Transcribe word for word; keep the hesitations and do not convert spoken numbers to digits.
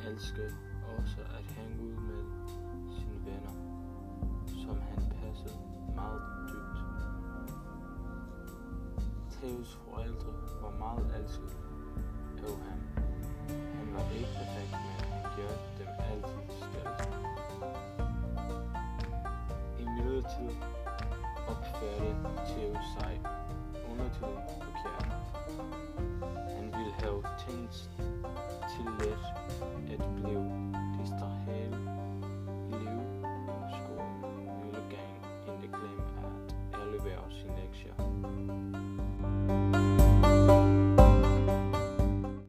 elskede også at hænge ud med sine venner, som han passede meget dybt. Theos forældre var meget elskede